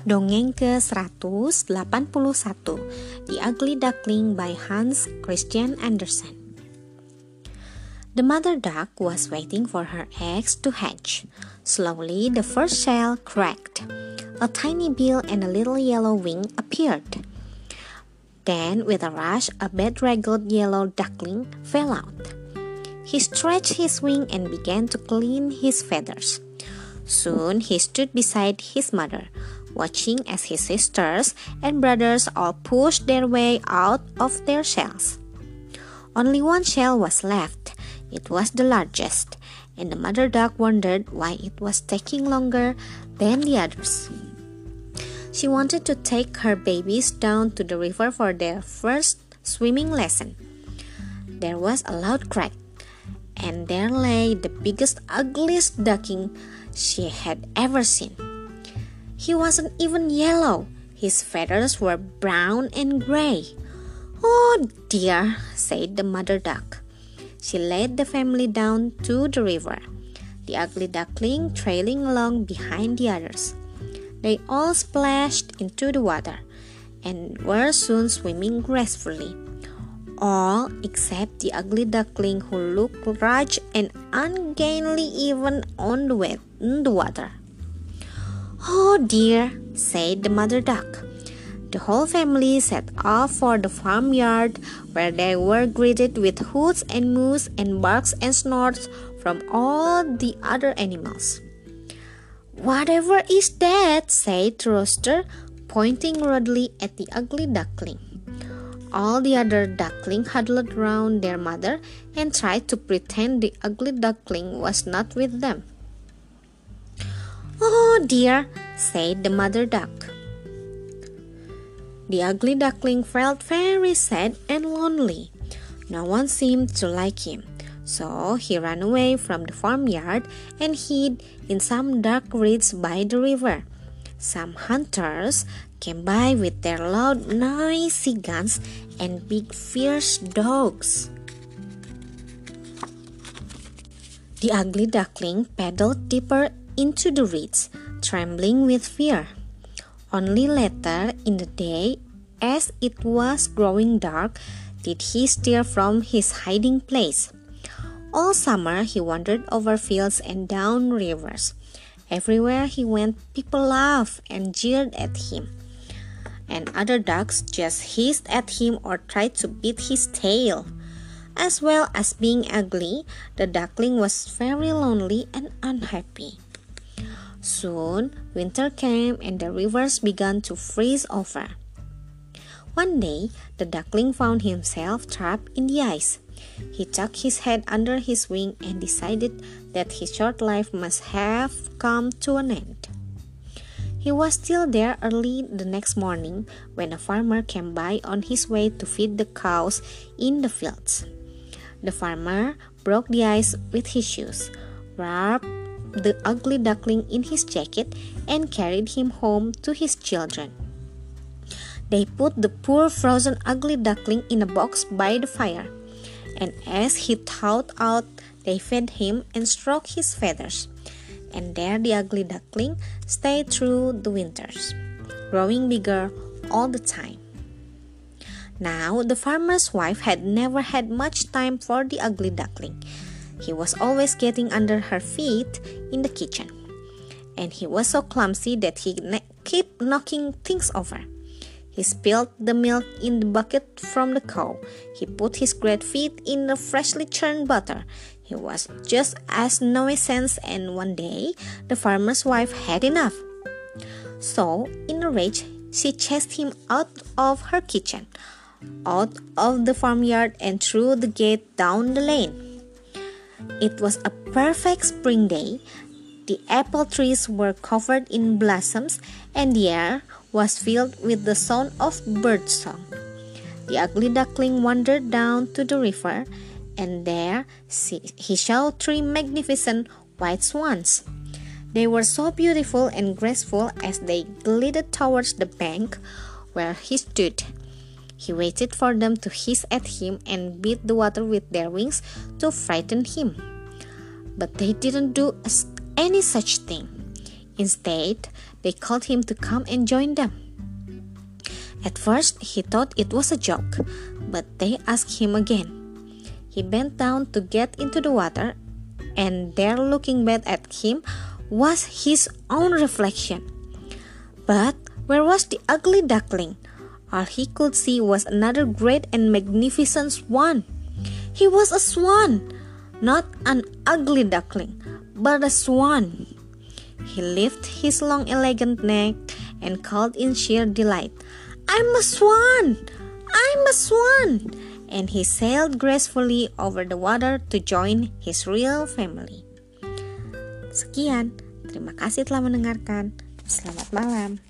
Dongeng ke-181, The Ugly Duckling by Hans Christian Andersen. The mother duck was waiting for her eggs to hatch. Slowly the first shell cracked. A tiny bill and a little yellow wing appeared. Then with a rush a bedraggled yellow duckling fell out. He stretched his wing and began to clean his feathers. Soon he stood beside his mother, watching as his sisters and brothers all pushed their way out of their shells. Only one shell was left. It was the largest, and the mother duck wondered why it was taking longer than the others. She wanted to take her babies down to the river for their first swimming lesson. There was a loud crack, and there lay the biggest, ugliest duckling she had ever seen. He wasn't even yellow. His feathers were brown and gray. "Oh dear," said the mother duck. She led the family down to the river, the ugly duckling trailing along behind the others. They all splashed into the water and were soon swimming gracefully. All except the ugly duckling who looked large and ungainly even on the water. "Oh dear," said the mother duck. The whole family set off for the farmyard, where they were greeted with hoots and moos and barks and snorts from all the other animals. "Whatever is that?" said the rooster, pointing rudely at the ugly duckling. All the other ducklings huddled round their mother and tried to pretend the ugly duckling was not with them. "Oh dear," said the mother duck. The ugly duckling felt very sad and lonely. No one seemed to like him, so he ran away from the farmyard and hid in some dark reeds by the river. Some hunters came by with their loud, noisy guns and big, fierce dogs. The ugly duckling paddled deeper into the reeds, trembling with fear. Only later in the day, as it was growing dark, did he stir from his hiding place. All summer he wandered over fields and down rivers. Everywhere he went, people laughed and jeered at him, and other ducks just hissed at him or tried to beat his tail. As well as being ugly, the duckling was very lonely and unhappy. Soon, winter came and the rivers began to freeze over. One day, the duckling found himself trapped in the ice. He tucked his head under his wing and decided that his short life must have come to an end. He was still there early the next morning when a farmer came by on his way to feed the cows in the fields. The farmer broke the ice with his shoes, wrapped the ugly duckling in his jacket, and carried him home to his children. They put the poor frozen ugly duckling in a box by the fire, and as he thawed out, they fed him and stroked his feathers. And there the ugly duckling stayed through the winters, growing bigger all the time. Now the farmer's wife had never had much time for the ugly duckling. He was always getting under her feet in the kitchen, and he was so clumsy that he kept knocking things over. He spilled the milk in the bucket from the cow. He put his great feet in the freshly churned butter. He was just as nuisance, and one day the farmer's wife had enough. So, in a rage, she chased him out of her kitchen, out of the farmyard, and through the gate down the lane. It was a perfect spring day. The apple trees were covered in blossoms, and the air was filled with the sound of birdsong. The ugly duckling wandered down to the river, and there he saw 3 magnificent white swans. They were so beautiful and graceful as they glided towards the bank where he stood. He waited for them to hiss at him and beat the water with their wings to frighten him. But they didn't do any such thing. Instead, they called him to come and join them. At first, he thought it was a joke, but they asked him again. He bent down to get into the water, and there, looking back at him, was his own reflection. But where was the ugly duckling? All he could see was another great and magnificent swan. He was a swan, not an ugly duckling, but a swan. He lifted his long elegant neck and called in sheer delight, "I'm a swan! I'm a swan!" And he sailed gracefully over the water to join his real family. Sekian, terima kasih telah mendengarkan. Selamat malam.